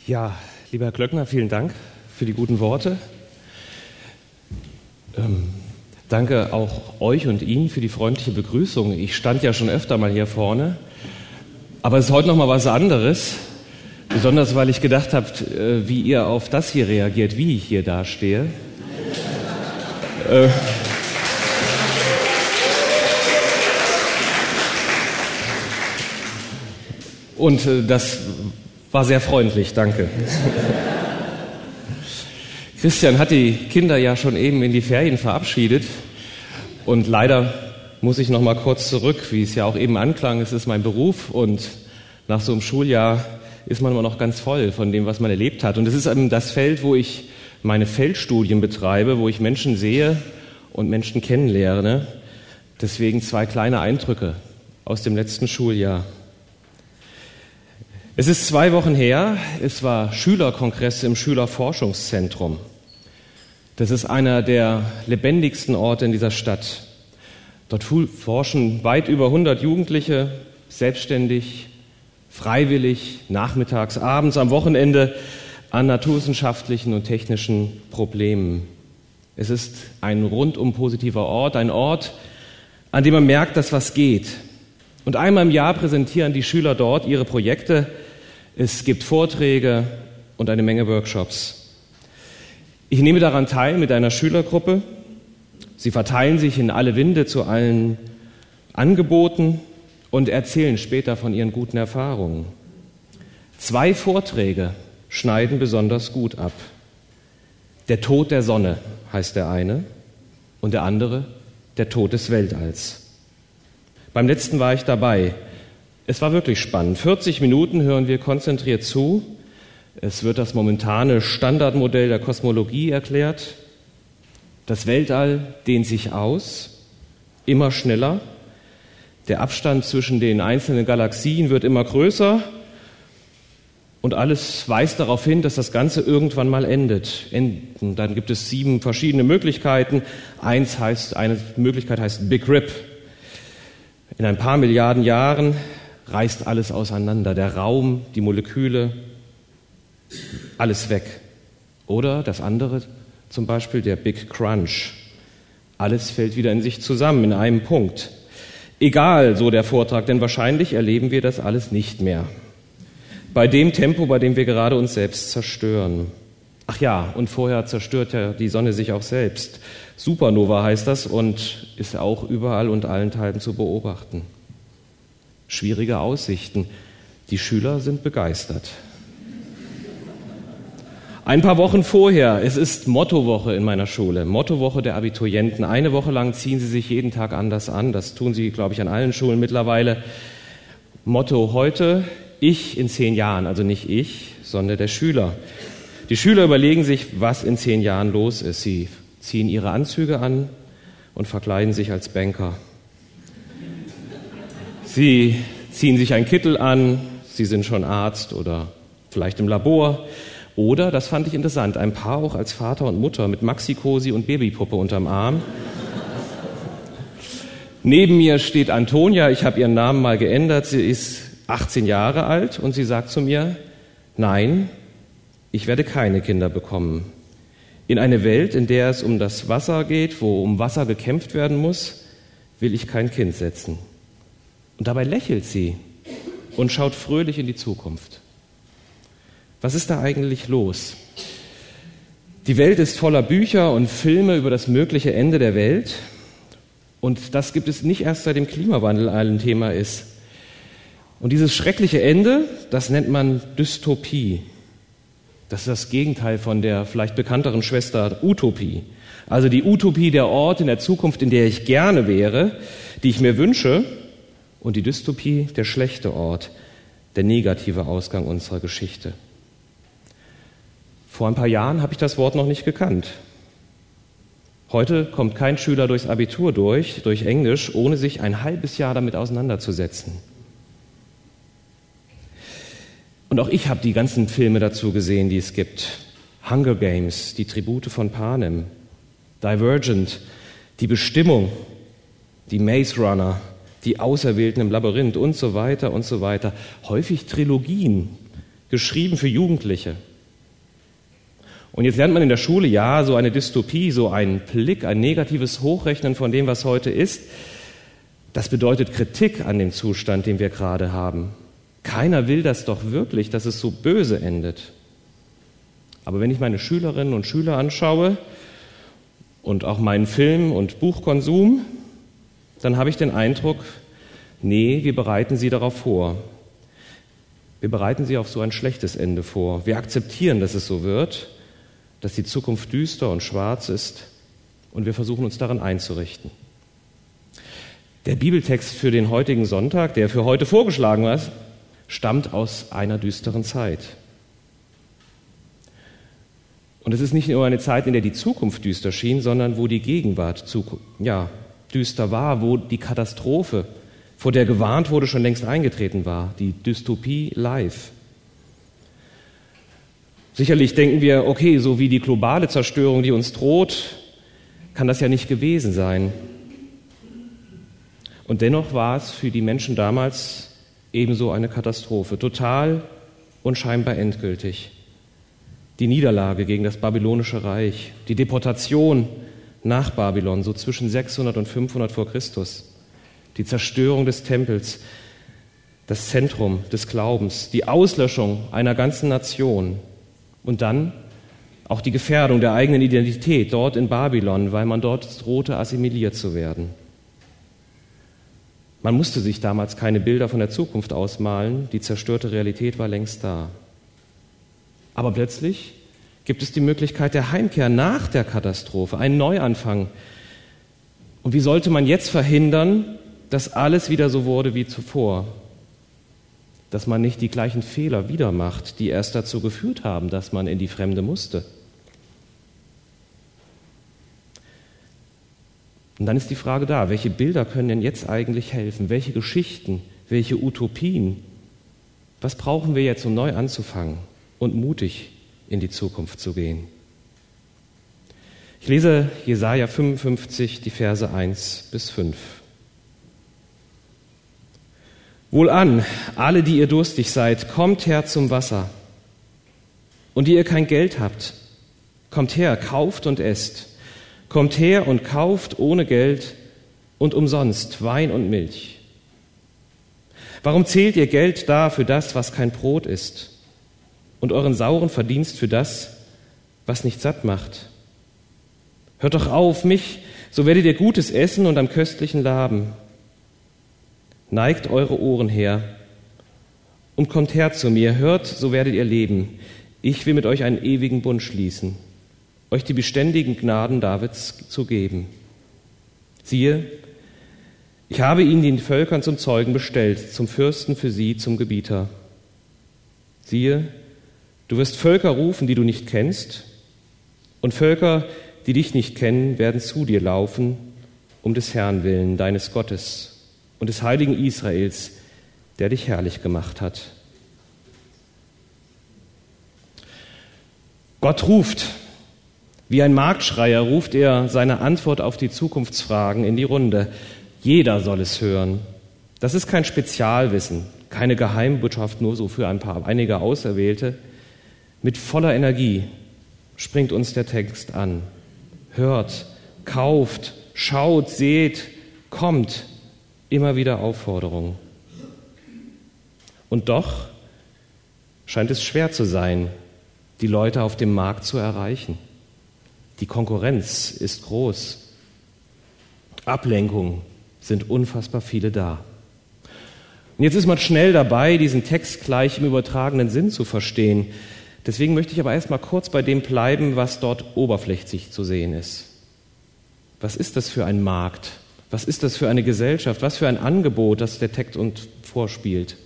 Ja, lieber Herr Glöckner, vielen Dank für die guten Worte. Danke auch euch und Ihnen für die freundliche Begrüßung. Ich stand ja schon öfter mal hier vorne, aber es ist heute noch mal was anderes. Besonders, weil ich gedacht habe, wie ihr auf das hier reagiert, wie ich hier dastehe. Und das war sehr freundlich, danke. Christian hat die Kinder ja schon eben in die Ferien verabschiedet und leider muss ich noch mal kurz zurück, wie es ja auch eben anklang, es ist mein Beruf und nach so einem Schuljahr ist man immer noch ganz voll von dem, was man erlebt hat. Und es ist eben das Feld, wo ich meine Feldstudien betreibe, wo ich Menschen sehe und Menschen kennenlerne. Deswegen 2 kleine Eindrücke aus dem letzten Schuljahr. Es ist 2 Wochen her, es war Schülerkongress im Schülerforschungszentrum. Das ist einer der lebendigsten Orte in dieser Stadt. Dort forschen weit über 100 Jugendliche, selbstständig, freiwillig, nachmittags, abends, am Wochenende an naturwissenschaftlichen und technischen Problemen. Es ist ein rundum positiver Ort, ein Ort, an dem man merkt, dass was geht. Und einmal im Jahr präsentieren die Schüler dort ihre Projekte. Es gibt Vorträge und eine Menge Workshops. Ich nehme daran teil mit einer Schülergruppe. Sie verteilen sich in alle Winde zu allen Angeboten und erzählen später von ihren guten Erfahrungen. 2 Vorträge schneiden besonders gut ab. Der Tod der Sonne heißt der eine und der andere der Tod des Weltalls. Beim letzten war ich dabei. Es war wirklich spannend. 40 Minuten hören wir konzentriert zu. Es wird das momentane Standardmodell der Kosmologie erklärt. Das Weltall dehnt sich aus, immer schneller. Der Abstand zwischen den einzelnen Galaxien wird immer größer. Und alles weist darauf hin, dass das Ganze irgendwann mal endet. Und dann gibt es 7 verschiedene Möglichkeiten. Eine Möglichkeit heißt Big Rip. In ein paar Milliarden Jahren reißt alles auseinander. Der Raum, die Moleküle, alles weg. Oder das andere, zum Beispiel der Big Crunch. Alles fällt wieder in sich zusammen, in einem Punkt. Egal, so der Vortrag, denn wahrscheinlich erleben wir das alles nicht mehr. Bei dem Tempo, bei dem wir gerade uns selbst zerstören. Ach ja, und vorher zerstört ja die Sonne sich auch selbst. Supernova heißt das und ist auch überall und allenthalben zu beobachten. Schwierige Aussichten. Die Schüler sind begeistert. Ein paar Wochen vorher, es ist Mottowoche in meiner Schule, Mottowoche der Abiturienten. Eine Woche lang ziehen sie sich jeden Tag anders an. Das tun sie, glaube ich, an allen Schulen mittlerweile. Motto heute, ich in 10 Jahren, also nicht ich, sondern der Schüler. Die Schüler überlegen sich, was in 10 Jahren los ist. Sie ziehen ihre Anzüge an und verkleiden sich als Banker. Sie ziehen sich einen Kittel an, sie sind schon Arzt oder vielleicht im Labor. Oder, das fand ich interessant, ein Paar auch als Vater und Mutter mit Maxi-Cosi und Babypuppe unterm Arm. Neben mir steht Antonia, ich habe ihren Namen mal geändert, sie ist 18 Jahre alt und sie sagt zu mir, nein, ich werde keine Kinder bekommen. In eine Welt, in der es um das Wasser geht, wo um Wasser gekämpft werden muss, will ich kein Kind setzen. Und dabei lächelt sie und schaut fröhlich in die Zukunft. Was ist da eigentlich los? Die Welt ist voller Bücher und Filme über das mögliche Ende der Welt. Und das gibt es nicht erst seit dem Klimawandel ein Thema ist. Und dieses schreckliche Ende, das nennt man Dystopie. Das ist das Gegenteil von der vielleicht bekannteren Schwester Utopie. Also die Utopie, der Ort in der Zukunft, in der ich gerne wäre, die ich mir wünsche. Und die Dystopie, der schlechte Ort, der negative Ausgang unserer Geschichte. Vor ein paar Jahren habe ich das Wort noch nicht gekannt. Heute kommt kein Schüler durchs Abitur durch Englisch, ohne sich ein halbes Jahr damit auseinanderzusetzen. Und auch ich habe die ganzen Filme dazu gesehen, die es gibt. Hunger Games, die Tribute von Panem, Divergent, die Bestimmung, die Maze Runner, die Auserwählten im Labyrinth und so weiter und so weiter. Häufig Trilogien, geschrieben für Jugendliche. Und jetzt lernt man in der Schule, ja, so eine Dystopie, so ein Blick, ein negatives Hochrechnen von dem, was heute ist, das bedeutet Kritik an dem Zustand, den wir gerade haben. Keiner will das doch wirklich, dass es so böse endet. Aber wenn ich meine Schülerinnen und Schüler anschaue und auch meinen Film- und Buchkonsum, dann habe ich den Eindruck, nee, wir bereiten sie darauf vor. Wir bereiten sie auf so ein schlechtes Ende vor. Wir akzeptieren, dass es so wird, dass die Zukunft düster und schwarz ist und wir versuchen uns daran einzurichten. Der Bibeltext für den heutigen Sonntag, der für heute vorgeschlagen war, stammt aus einer düsteren Zeit. Und es ist nicht nur eine Zeit, in der die Zukunft düster schien, sondern wo die Gegenwart düster war, wo die Katastrophe, vor der gewarnt wurde, schon längst eingetreten war, die Dystopie live. Sicherlich denken wir, okay, so wie die globale Zerstörung, die uns droht, kann das ja nicht gewesen sein. Und dennoch war es für die Menschen damals ebenso eine Katastrophe, total und scheinbar endgültig. Die Niederlage gegen das babylonische Reich, die Deportation nach Babylon, so zwischen 600 und 500 vor Christus, die Zerstörung des Tempels, das Zentrum des Glaubens, die Auslöschung einer ganzen Nation und dann auch die Gefährdung der eigenen Identität dort in Babylon, weil man dort drohte, assimiliert zu werden. Man musste sich damals keine Bilder von der Zukunft ausmalen, die zerstörte Realität war längst da. Aber plötzlich gibt es die Möglichkeit der Heimkehr nach der Katastrophe, einen Neuanfang. Und wie sollte man jetzt verhindern, dass alles wieder so wurde wie zuvor? Dass man nicht die gleichen Fehler wieder macht, die erst dazu geführt haben, dass man in die Fremde musste. Und dann ist die Frage da, welche Bilder können denn jetzt eigentlich helfen? Welche Geschichten, welche Utopien? Was brauchen wir jetzt, um neu anzufangen und mutig in die Zukunft zu gehen? Ich lese Jesaja 55, die Verse 1 bis 5. Wohlan, alle, die ihr durstig seid, kommt her zum Wasser. Und die ihr kein Geld habt, kommt her, kauft und esst. Kommt her und kauft ohne Geld und umsonst Wein und Milch. Warum zählt ihr Geld dar für das, was kein Brot ist, und euren sauren Verdienst für das, was nicht satt macht? Hört doch auf mich, so werdet ihr Gutes essen und am Köstlichen laben. Neigt eure Ohren her und kommt her zu mir, hört, so werdet ihr leben. Ich will mit euch einen ewigen Bund schließen, euch die beständigen Gnaden Davids zu geben. Siehe, ich habe ihn den Völkern zum Zeugen bestellt, zum Fürsten für sie, zum Gebieter. Siehe, du wirst Völker rufen, die du nicht kennst, und Völker, die dich nicht kennen, werden zu dir laufen, um des Herrn willen, deines Gottes und des heiligen Israels, der dich herrlich gemacht hat. Gott ruft. Wie ein Marktschreier ruft er seine Antwort auf die Zukunftsfragen in die Runde. Jeder soll es hören. Das ist kein Spezialwissen, keine Geheimbotschaft nur so für einige Auserwählte. Mit voller Energie springt uns der Text an. Hört, kauft, schaut, seht, kommt. Immer wieder Aufforderung. Und doch scheint es schwer zu sein, die Leute auf dem Markt zu erreichen. Die Konkurrenz ist groß. Ablenkungen sind unfassbar viele da. Und jetzt ist man schnell dabei, diesen Text gleich im übertragenen Sinn zu verstehen. Deswegen möchte ich aber erstmal kurz bei dem bleiben, was dort oberflächlich zu sehen ist. Was ist das für ein Markt? Was ist das für eine Gesellschaft? Was für ein Angebot, das der Text uns vorspielt?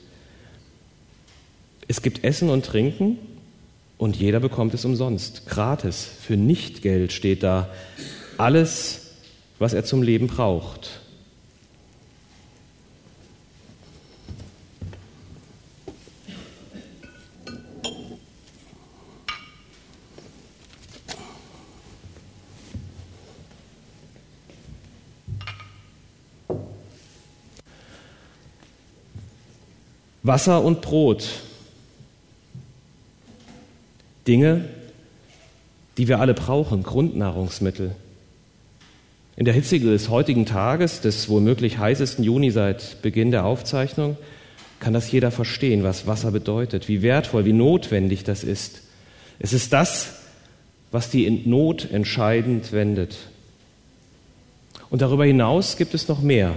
Es gibt Essen und Trinken und jeder bekommt es umsonst, gratis, für Nichtgeld steht da. Alles, was er zum Leben braucht. Wasser und Brot. Dinge, die wir alle brauchen, Grundnahrungsmittel. In der Hitze des heutigen Tages, des womöglich heißesten Juni seit Beginn der Aufzeichnung, kann das jeder verstehen, was Wasser bedeutet, wie wertvoll, wie notwendig das ist. Es ist das, was die Not entscheidend wendet. Und darüber hinaus gibt es noch mehr.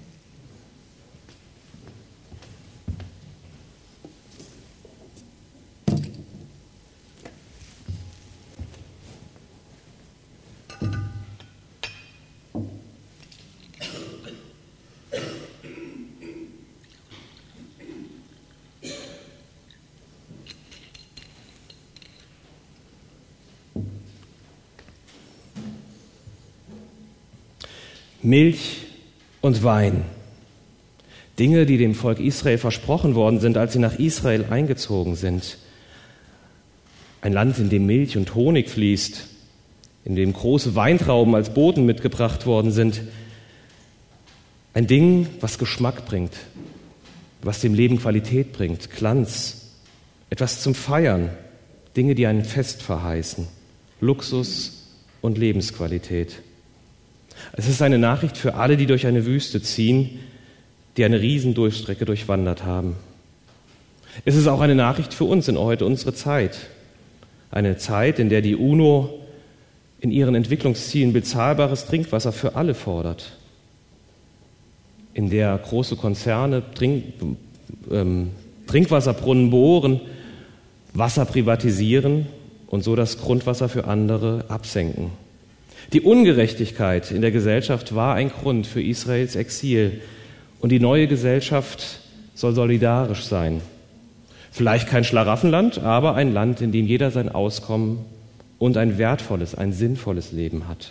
Milch und Wein. Dinge, die dem Volk Israel versprochen worden sind, als sie nach Israel eingezogen sind. Ein Land, in dem Milch und Honig fließt, in dem große Weintrauben als Boten mitgebracht worden sind. Ein Ding, was Geschmack bringt, was dem Leben Qualität bringt, Glanz, etwas zum Feiern, Dinge, die ein Fest verheißen, Luxus und Lebensqualität. Es ist eine Nachricht für alle, die durch eine Wüste ziehen, die eine Riesendurchstrecke durchwandert haben. Es ist auch eine Nachricht für uns in heute unsere Zeit. Eine Zeit, in der die UNO in ihren Entwicklungszielen bezahlbares Trinkwasser für alle fordert. In der große Konzerne Trinkwasserbrunnen bohren, Wasser privatisieren und so das Grundwasser für andere absenken. Die Ungerechtigkeit in der Gesellschaft war ein Grund für Israels Exil und die neue Gesellschaft soll solidarisch sein. Vielleicht kein Schlaraffenland, aber ein Land, in dem jeder sein Auskommen und ein wertvolles, ein sinnvolles Leben hat.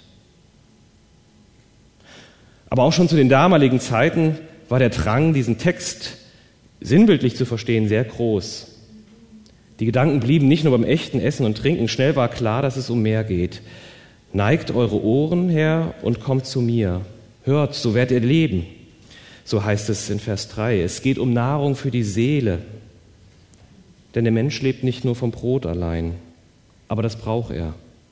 Aber auch schon zu den damaligen Zeiten war der Drang, diesen Text sinnbildlich zu verstehen, sehr groß. Die Gedanken blieben nicht nur beim echten Essen und Trinken, schnell war klar, dass es um mehr geht. Neigt eure Ohren her und kommt zu mir. Hört, so werdet ihr leben. So heißt es in Vers 3. Es geht um Nahrung für die Seele. Denn der Mensch lebt nicht nur vom Brot allein, aber das braucht er.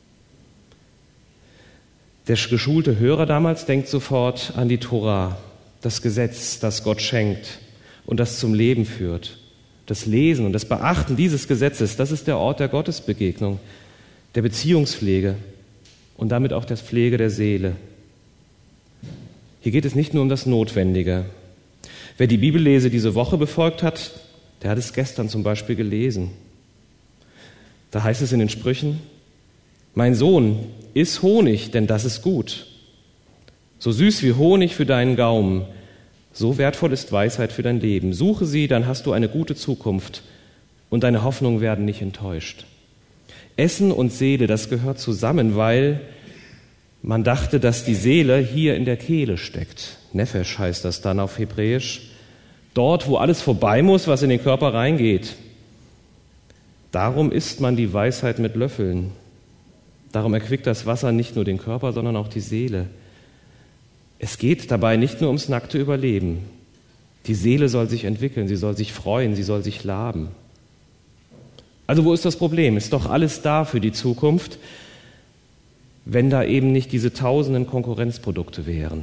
Der geschulte Hörer damals denkt sofort an die Tora, das Gesetz, das Gott schenkt und das zum Leben führt. Das Lesen und das Beachten dieses Gesetzes, das ist der Ort der Gottesbegegnung, der Beziehungspflege und damit auch der Pflege der Seele. Hier geht es nicht nur um das Notwendige. Wer die Bibellese diese Woche befolgt hat, der hat es gestern zum Beispiel gelesen. Da heißt es in den Sprüchen: Mein Sohn, iss Honig, denn das ist gut. So süß wie Honig für deinen Gaumen, so wertvoll ist Weisheit für dein Leben. Suche sie, dann hast du eine gute Zukunft und deine Hoffnungen werden nicht enttäuscht. Essen und Seele, das gehört zusammen, weil man dachte, dass die Seele hier in der Kehle steckt. Nefesh heißt das dann auf Hebräisch. Dort, wo alles vorbei muss, was in den Körper reingeht. Darum isst man die Weisheit mit Löffeln. Darum erquickt das Wasser nicht nur den Körper, sondern auch die Seele. Es geht dabei nicht nur ums nackte Überleben. Die Seele soll sich entwickeln, sie soll sich freuen, sie soll sich laben. Also wo ist das Problem? Ist doch alles da für die Zukunft, wenn da eben nicht diese tausenden Konkurrenzprodukte wären.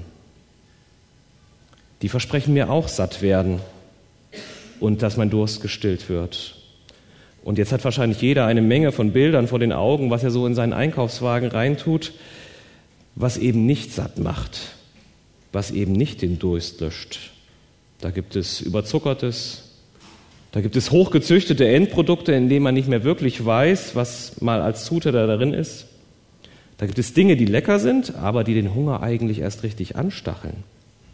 Die versprechen mir auch satt werden und dass mein Durst gestillt wird. Und jetzt hat wahrscheinlich jeder eine Menge von Bildern vor den Augen, was er so in seinen Einkaufswagen reintut, was eben nicht satt macht, was eben nicht den Durst löscht. Da gibt es Überzuckertes, da gibt es hochgezüchtete Endprodukte, in denen man nicht mehr wirklich weiß, was mal als Zutat da drin ist. Da gibt es Dinge, die lecker sind, aber die den Hunger eigentlich erst richtig anstacheln.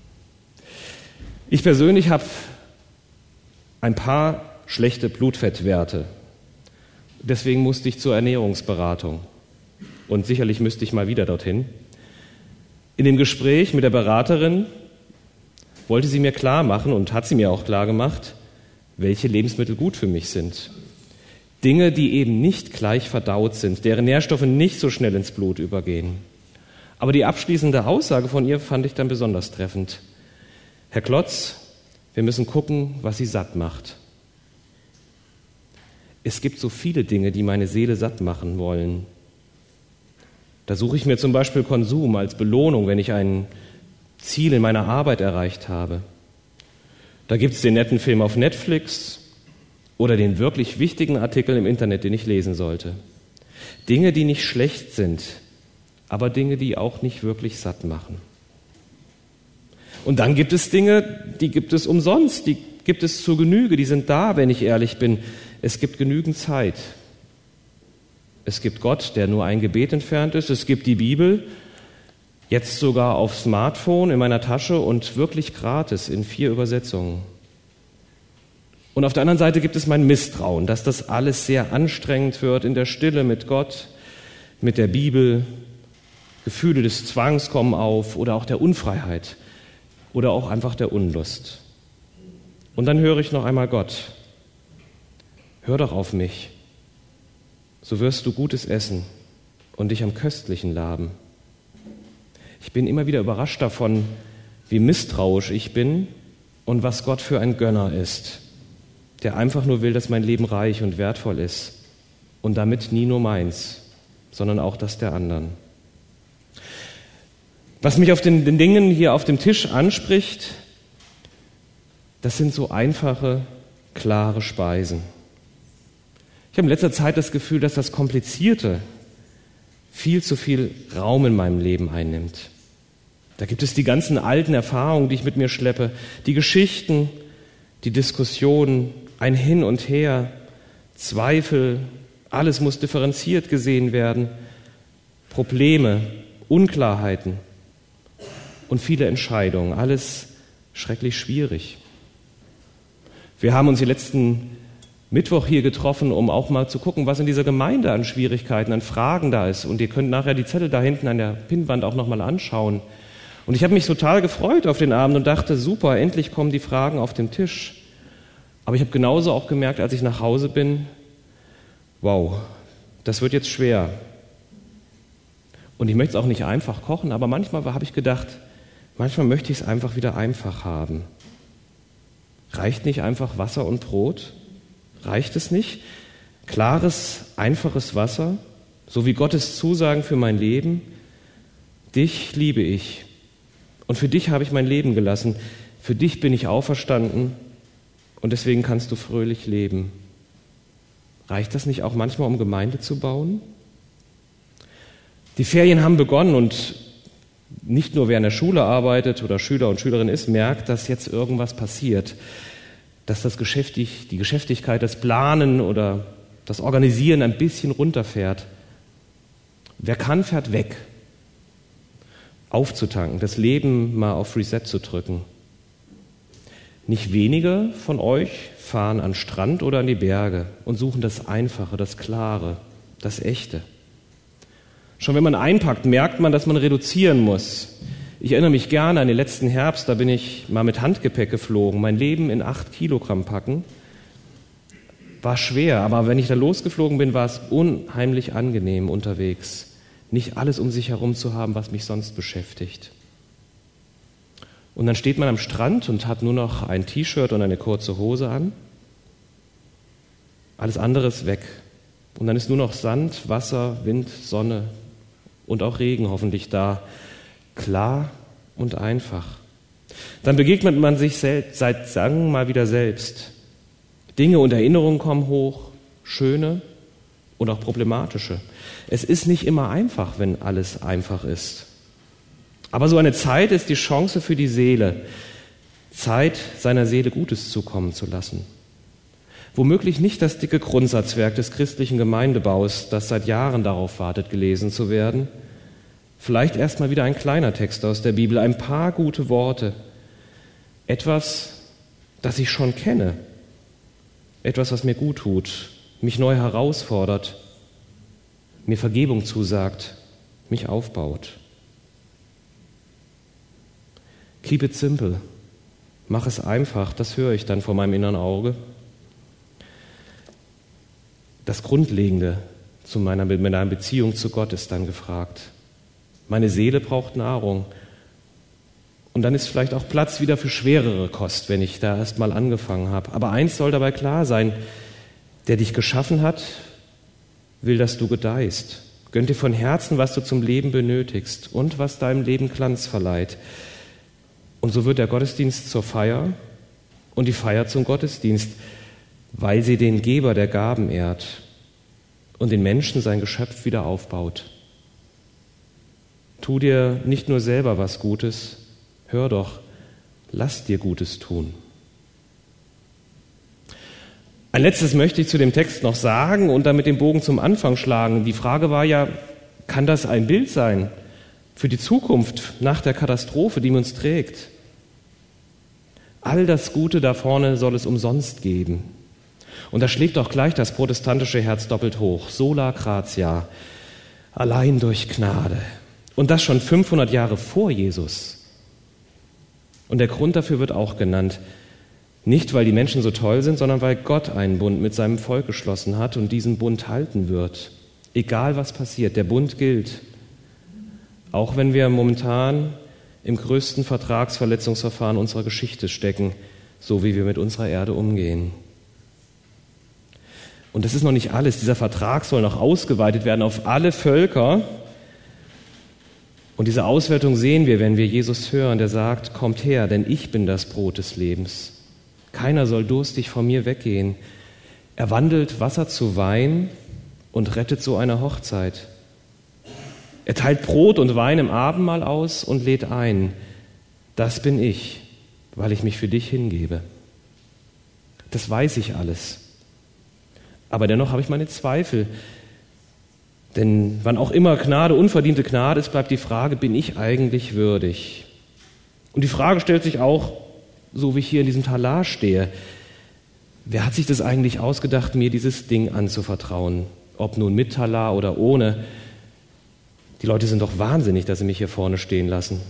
Ich persönlich habe ein paar schlechte Blutfettwerte. Deswegen musste ich zur Ernährungsberatung. Und sicherlich müsste ich mal wieder dorthin. In dem Gespräch mit der Beraterin wollte sie mir klar machen und hat sie mir auch klar gemacht, welche Lebensmittel gut für mich sind. Dinge, die eben nicht gleich verdaut sind, deren Nährstoffe nicht so schnell ins Blut übergehen. Aber die abschließende Aussage von ihr fand ich dann besonders treffend. Herr Klotz, wir müssen gucken, was Sie satt macht. Es gibt so viele Dinge, die meine Seele satt machen wollen. Da suche ich mir zum Beispiel Konsum als Belohnung, wenn ich ein Ziel in meiner Arbeit erreicht habe. Da gibt es den netten Film auf Netflix oder den wirklich wichtigen Artikel im Internet, den ich lesen sollte. Dinge, die nicht schlecht sind, aber Dinge, die auch nicht wirklich satt machen. Und dann gibt es Dinge, die gibt es umsonst, die gibt es zur Genüge, die sind da, wenn ich ehrlich bin. Es gibt genügend Zeit. Es gibt Gott, der nur ein Gebet entfernt ist. Es gibt die Bibel, jetzt sogar auf Smartphone in meiner Tasche und wirklich gratis in 4 Übersetzungen. Und auf der anderen Seite gibt es mein Misstrauen, dass das alles sehr anstrengend wird in der Stille mit Gott, mit der Bibel. Gefühle des Zwangs kommen auf oder auch der Unfreiheit oder auch einfach der Unlust. Und dann höre ich noch einmal Gott. Hör doch auf mich, so wirst du Gutes essen und dich am Köstlichen laben. Ich bin immer wieder überrascht davon, wie misstrauisch ich bin und was Gott für ein Gönner ist, der einfach nur will, dass mein Leben reich und wertvoll ist und damit nie nur meins, sondern auch das der anderen. Was mich auf den Dingen hier auf dem Tisch anspricht, das sind so einfache, klare Speisen. Ich habe in letzter Zeit das Gefühl, dass das Komplizierte viel zu viel Raum in meinem Leben einnimmt. Da gibt es die ganzen alten Erfahrungen, die ich mit mir schleppe, die Geschichten, die Diskussionen, ein Hin und Her, Zweifel, alles muss differenziert gesehen werden, Probleme, Unklarheiten und viele Entscheidungen, alles schrecklich schwierig. Wir haben uns die letzten Mittwoch hier getroffen, um auch mal zu gucken, was in dieser Gemeinde an Schwierigkeiten, an Fragen da ist. Und ihr könnt nachher die Zettel da hinten an der Pinnwand auch nochmal anschauen. Und ich habe mich total gefreut auf den Abend und dachte, super, endlich kommen die Fragen auf den Tisch. Aber ich habe genauso auch gemerkt, als ich nach Hause bin, wow, das wird jetzt schwer. Und ich möchte es auch nicht einfach kochen, aber manchmal habe ich gedacht, manchmal möchte ich es einfach wieder einfach haben. Reicht nicht einfach Wasser und Brot? Reicht es nicht? Klares, einfaches Wasser, so wie Gottes Zusagen für mein Leben. Dich liebe ich und für dich habe ich mein Leben gelassen. Für dich bin ich auferstanden und deswegen kannst du fröhlich leben. Reicht das nicht auch manchmal, um Gemeinde zu bauen? Die Ferien haben begonnen und nicht nur wer in der Schule arbeitet oder Schüler und Schülerin ist, merkt, dass jetzt irgendwas passiert. Dass die Geschäftigkeit, das Planen oder das Organisieren ein bisschen runterfährt. Wer kann, fährt weg. Aufzutanken, das Leben mal auf Reset zu drücken. Nicht wenige von euch fahren an den Strand oder an die Berge und suchen das Einfache, das Klare, das Echte. Schon wenn man einpackt, merkt man, dass man reduzieren muss. Ich erinnere mich gerne an den letzten Herbst, da bin ich mal mit Handgepäck geflogen. Mein Leben in 8 Kilogramm packen war schwer, aber wenn ich da losgeflogen bin, war es unheimlich angenehm unterwegs. Nicht alles um sich herum zu haben, was mich sonst beschäftigt. Und dann steht man am Strand und hat nur noch ein T-Shirt und eine kurze Hose an. Alles andere ist weg. Und dann ist nur noch Sand, Wasser, Wind, Sonne und auch Regen hoffentlich da. Klar und einfach. Dann begegnet man sich seit langem mal wieder selbst. Dinge und Erinnerungen kommen hoch, schöne und auch problematische. Es ist nicht immer einfach, wenn alles einfach ist. Aber so eine Zeit ist die Chance für die Seele, Zeit, seiner Seele Gutes zukommen zu lassen. Womöglich nicht das dicke Grundsatzwerk des christlichen Gemeindebaus, das seit Jahren darauf wartet, gelesen zu werden. Vielleicht erst mal wieder ein kleiner Text aus der Bibel, ein paar gute Worte. Etwas, das ich schon kenne. Etwas, was mir gut tut, mich neu herausfordert, mir Vergebung zusagt, mich aufbaut. Keep it simple. Mach es einfach, das höre ich dann vor meinem inneren Auge. Das Grundlegende zu meiner Beziehung zu Gott ist dann gefragt. Meine Seele braucht Nahrung. Und dann ist vielleicht auch Platz wieder für schwerere Kost, wenn ich da erst mal angefangen habe. Aber eins soll dabei klar sein, der dich geschaffen hat, will, dass du gedeihst. Gönnt dir von Herzen, was du zum Leben benötigst und was deinem Leben Glanz verleiht. Und so wird der Gottesdienst zur Feier und die Feier zum Gottesdienst, weil sie den Geber der Gaben ehrt und den Menschen sein Geschöpf wieder aufbaut. Tu dir nicht nur selber was Gutes, hör doch, lass dir Gutes tun. Ein letztes möchte ich zu dem Text noch sagen und damit den Bogen zum Anfang schlagen. Die Frage war ja, kann das ein Bild sein für die Zukunft nach der Katastrophe, die uns trägt? All das Gute da vorne soll es umsonst geben. Und da schlägt auch gleich das protestantische Herz doppelt hoch. Sola gratia, allein durch Gnade. Und das schon 500 Jahre vor Jesus. Und der Grund dafür wird auch genannt. Nicht, weil die Menschen so toll sind, sondern weil Gott einen Bund mit seinem Volk geschlossen hat und diesen Bund halten wird. Egal was passiert, der Bund gilt. Auch wenn wir momentan im größten Vertragsverletzungsverfahren unserer Geschichte stecken, so wie wir mit unserer Erde umgehen. Und das ist noch nicht alles. Dieser Vertrag soll noch ausgeweitet werden auf alle Völker. Und diese Ausweitung sehen wir, wenn wir Jesus hören, der sagt, kommt her, denn ich bin das Brot des Lebens. Keiner soll durstig von mir weggehen. Er wandelt Wasser zu Wein und rettet so eine Hochzeit. Er teilt Brot und Wein im Abendmahl aus und lädt ein. Das bin ich, weil ich mich für dich hingebe. Das weiß ich alles. Aber dennoch habe ich meine Zweifel. Denn wann auch immer Gnade unverdiente Gnade ist, bleibt die Frage, bin ich eigentlich würdig? Und die Frage stellt sich auch, so wie ich hier in diesem Talar stehe, wer hat sich das eigentlich ausgedacht, mir dieses Ding anzuvertrauen? Ob nun mit Talar oder ohne. Die Leute sind doch wahnsinnig, dass sie mich hier vorne stehen lassen.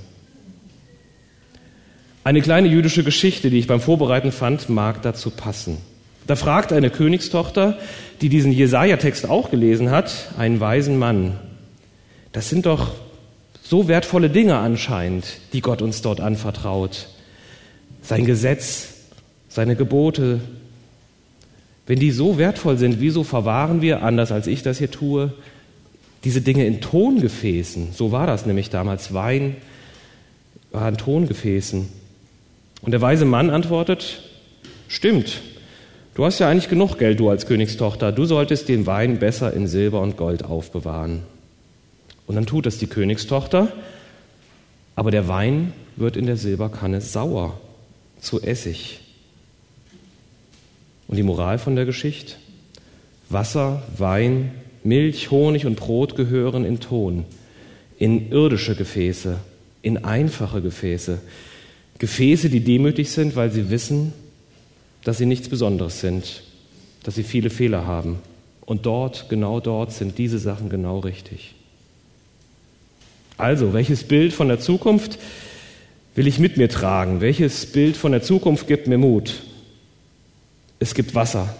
Eine kleine jüdische Geschichte, die ich beim Vorbereiten fand, mag dazu passen. Da fragt eine Königstochter, die diesen Jesaja-Text auch gelesen hat, einen weisen Mann. Das sind doch so wertvolle Dinge anscheinend, die Gott uns dort anvertraut. Sein Gesetz, seine Gebote. Wenn die so wertvoll sind, wieso verwahren wir, anders als ich das hier tue, diese Dinge in Tongefäßen? So war das nämlich damals. Wein war in Tongefäßen. Und der weise Mann antwortet, stimmt, du hast ja eigentlich genug Geld, du als Königstochter. Du solltest den Wein besser in Silber und Gold aufbewahren. Und dann tut es die Königstochter, aber der Wein wird in der Silberkanne sauer, zu Essig. Und die Moral von der Geschichte? Wasser, Wein, Milch, Honig und Brot gehören in Ton, in irdische Gefäße, in einfache Gefäße. Gefäße, die demütig sind, weil sie wissen, dass sie nichts Besonderes sind, dass sie viele Fehler haben. Und dort, genau dort, sind diese Sachen genau richtig. Also, welches Bild von der Zukunft will ich mit mir tragen? Welches Bild von der Zukunft gibt mir Mut? Es gibt Wasser.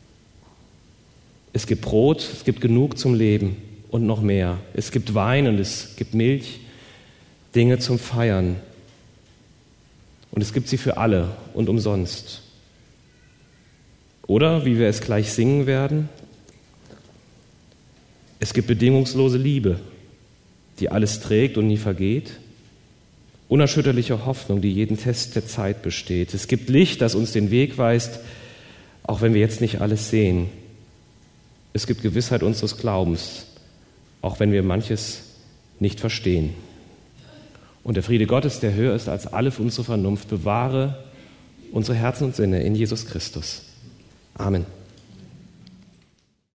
Es gibt Brot, es gibt genug zum Leben und noch mehr. Es gibt Wein und es gibt Milch, Dinge zum Feiern. Und es gibt sie für alle und umsonst. Oder, wie wir es gleich singen werden, es gibt bedingungslose Liebe, die alles trägt und nie vergeht. Unerschütterliche Hoffnung, die jeden Test der Zeit besteht. Es gibt Licht, das uns den Weg weist, auch wenn wir jetzt nicht alles sehen. Es gibt Gewissheit unseres Glaubens, auch wenn wir manches nicht verstehen. Und der Friede Gottes, der höher ist als alle unsere Vernunft, bewahre unsere Herzen und Sinne in Jesus Christus. Amen.